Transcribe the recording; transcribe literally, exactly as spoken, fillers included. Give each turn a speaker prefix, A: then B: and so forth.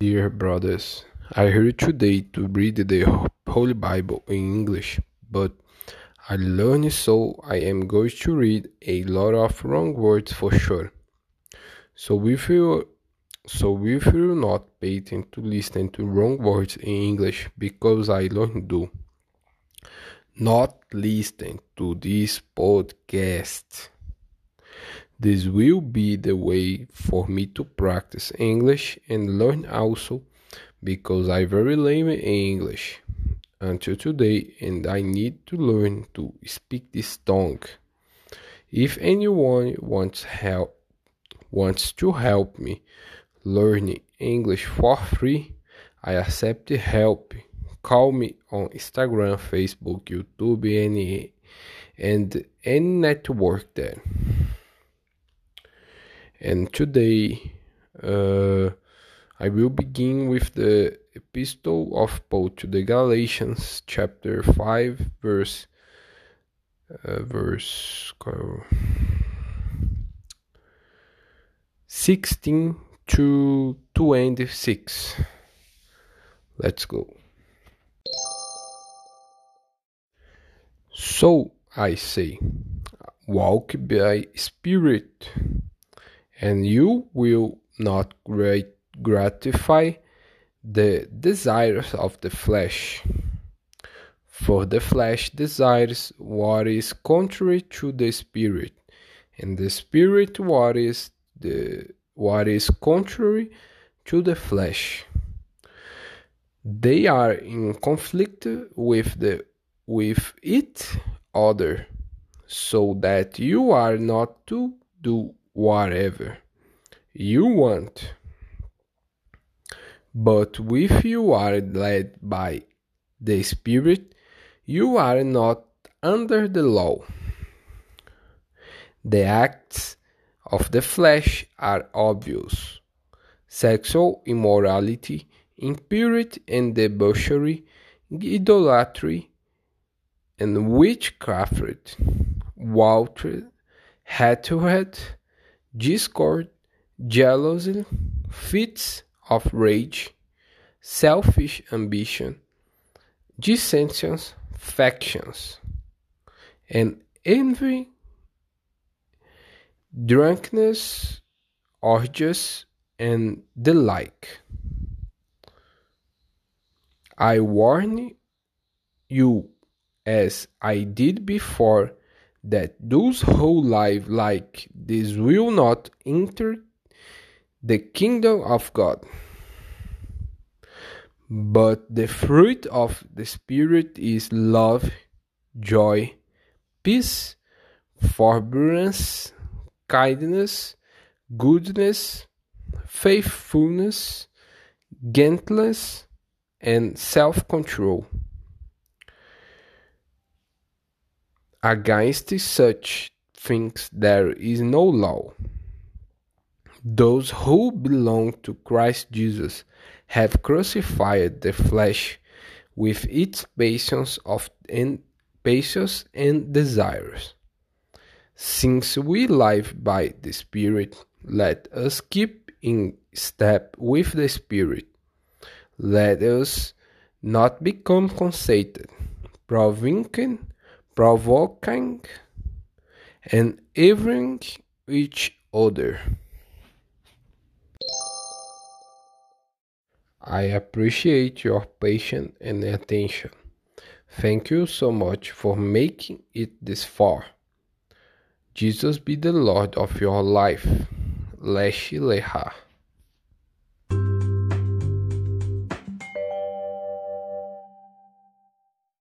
A: Dear brothers, I here today to read the Holy Bible in English, but I learned so I am going to read a lot of wrong words for sure. So if you so if you not pay attention to listen to wrong words in English because I learned to not listen to this podcast. This will be the way for me to practice English and learn also because I very lame in English until today and I need to learn to speak this tongue. If anyone wants help wants to help me learning English for free, I accept help. Call me on Instagram, Facebook, YouTube, and, and any network there. And today uh, I will begin with the epistle of Paul to the Galatians, chapter five, verse uh, verse sixteen to twenty-six. Let's go. So I say, walk by Spirit, and you will not gratify the desires of the flesh. For the flesh desires what is contrary to the Spirit, and the Spirit what is the what is contrary to the flesh. They are in conflict with the with each other, so that you are not to do whatever you want. But if you are led by the Spirit, you are not under the law. The acts of the flesh are obvious: sexual immorality, impurity and debauchery, idolatry and witchcraft, water, hatred, discord, jealousy, fits of rage, selfish ambition, dissensions, factions, and envy, drunkenness, orgies, and the like. I warn you, as I did before, that those who live like this will not enter the kingdom of God. But the fruit of the Spirit is love, joy, peace, forbearance, kindness, goodness, faithfulness, gentleness, and self-control. Against such things there is no law. Those who belong to Christ Jesus have crucified the flesh with its passions of and passions and desires. Since we live by the Spirit, let us keep in step with the Spirit. Let us not become conceited, provoking, provoking, and envying each other. I appreciate your patience and attention. Thank you so much for making it this far. Jesus be the Lord of your life. Leshi Leha.